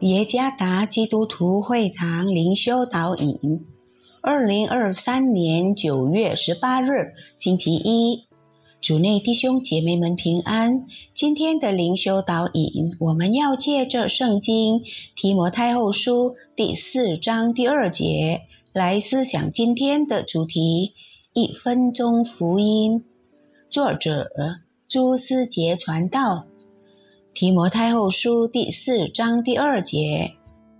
耶加达基督徒会堂灵修导引，2023年9月18日，星期一。主内弟兄姐妹们平安。今天的灵修导引，我们要借着圣经提摩太后书第4章第2节来思想今天的主题，1分钟福音。作者朱思杰传道。提摩太后书第4章第2节，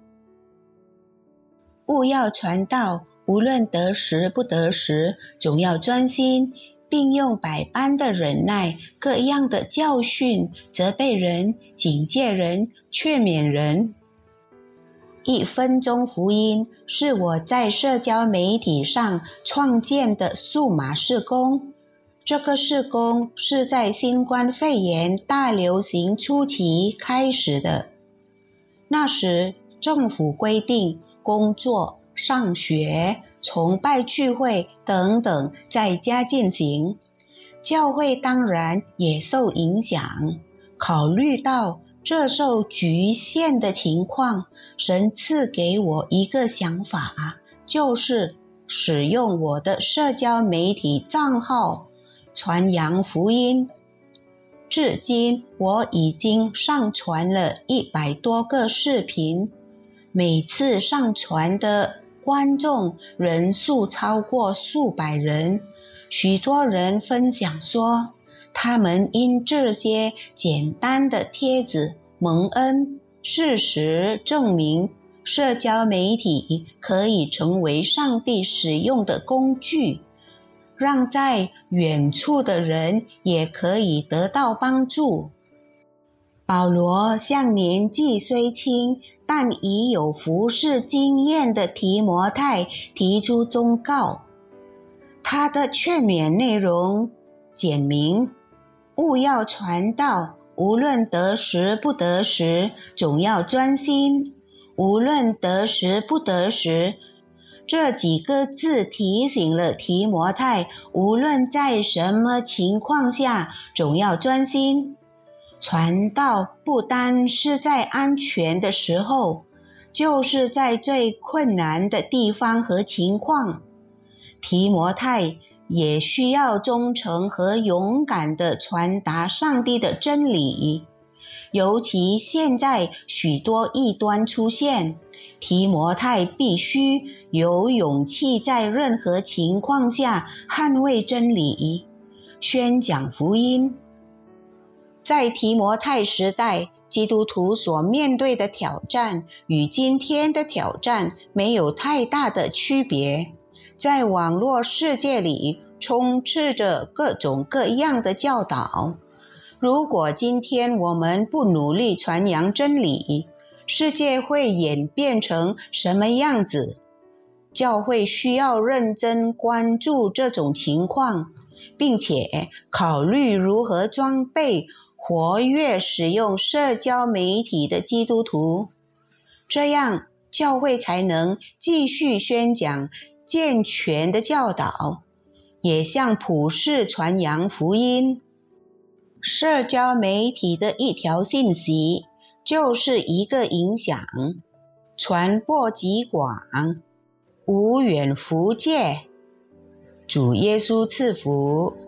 务要传道，无论得时不得时，总要专心，并用百般的忍耐，各样的教训，责备人，警戒人，劝勉人。1分钟福音是我在社交媒体上创建的数码事工。这个事工是在新冠肺炎大流行初期开始的。那时政府规定工作、上学、崇拜聚会等等在家进行，教会当然也受影响。考虑到这受局限的情况，神赐给我一个想法，就是使用我的社交媒体账号传扬福音。至今我已经上传了100多个视频，每次上传的观众人数超过数百人。许多人分享说，他们因这些简单的帖子蒙恩。事实证明，社交媒体可以成为上帝使用的工具，让在远处的人也可以得到帮助。保罗向年纪虽轻，但已有服事经验的提摩太提出忠告。他的劝勉内容简明：务要传道，无论得时不得时，总要专心。无论得时不得时，这几个字提醒了提摩太，无论在什么情况下，总要专心。传道不单是在安全的时候，就是在最困难的地方和情况。提摩太也需要忠诚和勇敢地传达上帝的真理。尤其现在许多异端出现，提摩太必须有勇气在任何情况下捍卫真理，宣讲福音。在提摩太时代，基督徒所面对的挑战与今天的挑战没有太大的区别。在网络世界里，充斥着各种各样的教导。如果今天我们不努力传扬真理，世界会演变成什么样子？教会需要认真关注这种情况，并且考虑如何装备活跃使用社交媒体的基督徒，这样教会才能继续宣讲健全的教导，也向普世传扬福音。社交媒体的一条信息就是一个影响，传播极广，无远弗届。主耶稣赐福。